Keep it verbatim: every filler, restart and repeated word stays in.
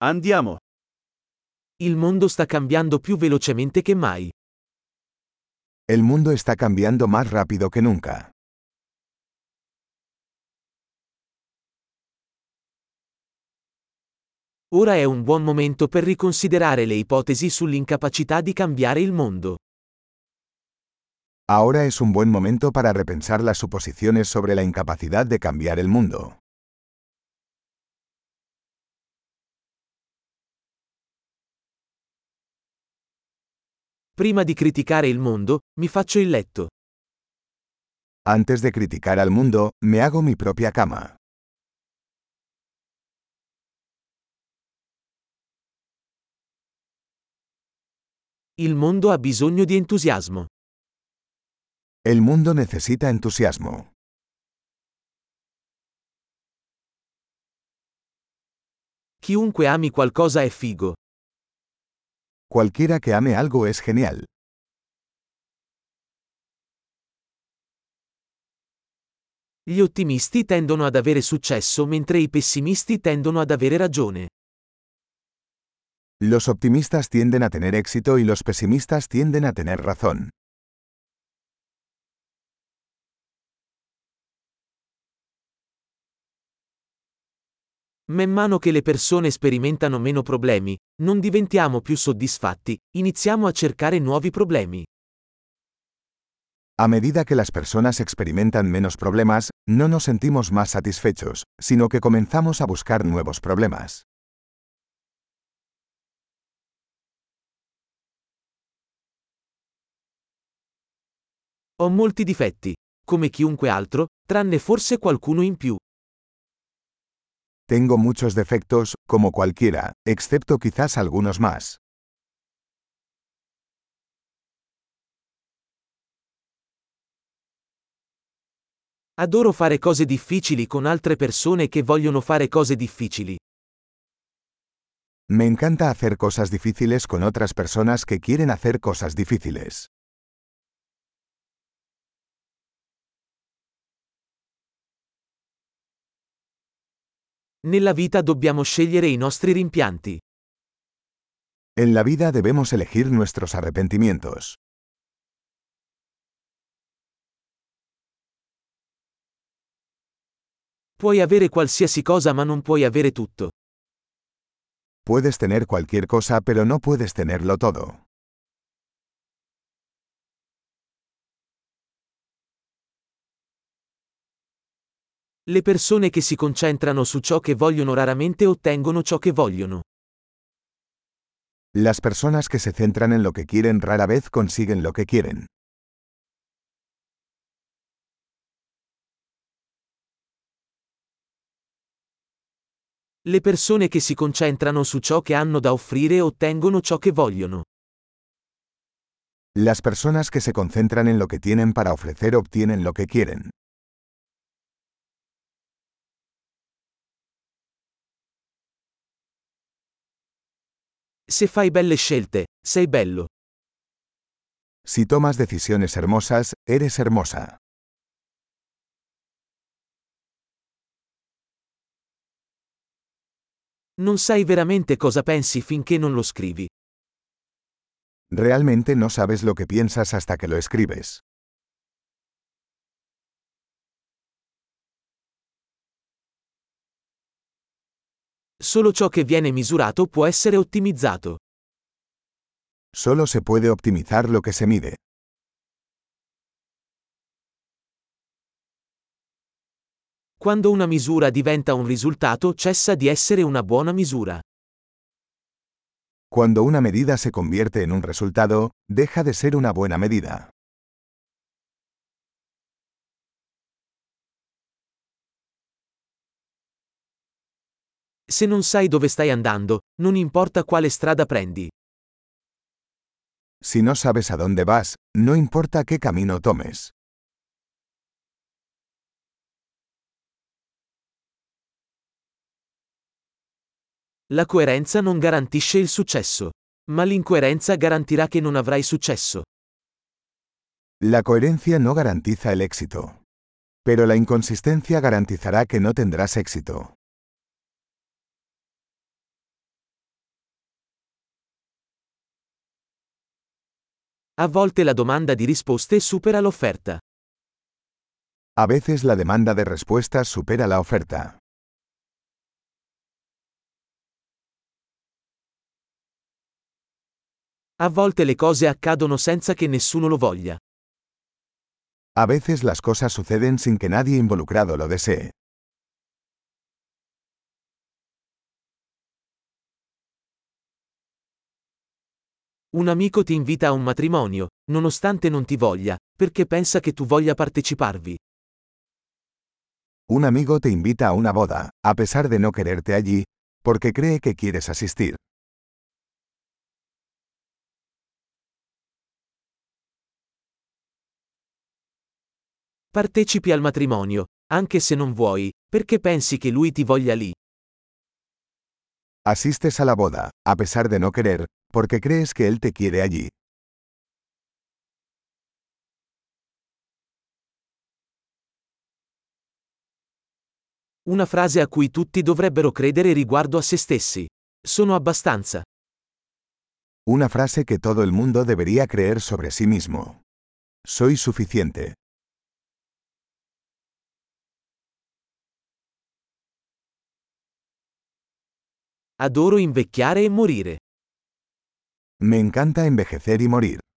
Andiamo. Il mondo sta cambiando più velocemente che mai. El mundo está cambiando más rápido que nunca. Ora è un buon momento per riconsiderare le ipotesi sull'incapacità di cambiare il mondo. Ahora es un buen momento para repensar las suposiciones sobre la incapacidad de cambiar el mundo. Prima di criticare il mondo, mi faccio il letto. Antes de criticar al mundo, me hago mi propia cama. Il mondo ha bisogno di entusiasmo. El mundo necesita entusiasmo. Chiunque ami qualcosa è figo. Cualquiera que ame algo es genial. Gli ottimisti tendono ad avere successo mentre i pessimisti tendono ad avere ragione. Los optimistas tienden a tener éxito y los pesimistas tienden a tener razón. Man mano che le persone sperimentano meno problemi, non diventiamo più soddisfatti, iniziamo a cercare nuovi problemi. A medida que las personas experimentan menos problemas, no nos sentimos más satisfechos, sino que comenzamos a buscar nuevos problemas. Ho molti difetti, come chiunque altro, tranne forse qualcuno in più. Tengo muchos defectos, como cualquiera, excepto quizás algunos más. Adoro fare cose difficili con altre persone che vogliono fare cose difficili. Me encanta hacer cosas difíciles con otras personas que quieren hacer cosas difíciles. Nella vita dobbiamo scegliere i nostri rimpianti. En la vida debemos elegir nuestros arrepentimientos. Puoi avere qualsiasi cosa ma non puoi avere tutto. Puedes tener cualquier cosa pero no puedes tenerlo todo. Le persone che si concentrano su ciò che vogliono raramente ottengono ciò che vogliono. Las personas que se centran en lo que quieren rara vez consiguen lo que quieren. Le persone che si concentrano su ciò che hanno da offrire ottengono ciò che vogliono. Las personas que se concentran en lo que tienen para ofrecer obtienen lo que quieren. Se fai belle scelte, sei bello. Si tomas decisiones hermosas, eres hermosa. Non sai veramente cosa pensi finché non lo scrivi. Realmente no sabes lo que piensas hasta que lo escribes. Solo ciò che viene misurato può essere ottimizzato. Solo se puede optimizar lo que se mide. Quando una misura diventa un risultato cessa di essere una buona misura. Cuando una medida se convierte en un resultado, deja de ser una buena medida. Se non sai dove stai andando, non importa quale strada prendi. Si no sabes a dónde vas, no importa qué camino tomes. La coerenza non garantisce il successo, ma l'incoerenza garantirà che non avrai successo. La coherencia no garantiza el éxito. Pero la inconsistencia garantizará que no tendrás éxito. A volte la domanda di risposte supera l'offerta. A veces la demanda de respuestas supera la oferta. A volte le cose accadono senza che nessuno lo voglia. A veces las cosas suceden sin que nadie involucrado lo desee. Un amico ti invita a un matrimonio, nonostante non ti voglia, perché pensa che tu voglia parteciparvi. Un amigo te invita a una boda, a pesar de no quererte allí, porque cree que quieres asistir. Partecipi al matrimonio, anche se non vuoi, perché pensi che lui ti voglia lì. Asistes a la boda, a pesar de no querer, porque crees que él te quiere allí. Una frase a cui tutti dovrebbero credere riguardo a se stessi. Sono abbastanza. Una frase que todo el mundo debería creer sobre sí mismo. Soy suficiente. Adoro invecchiare e morire. Me encanta envejecer y morir.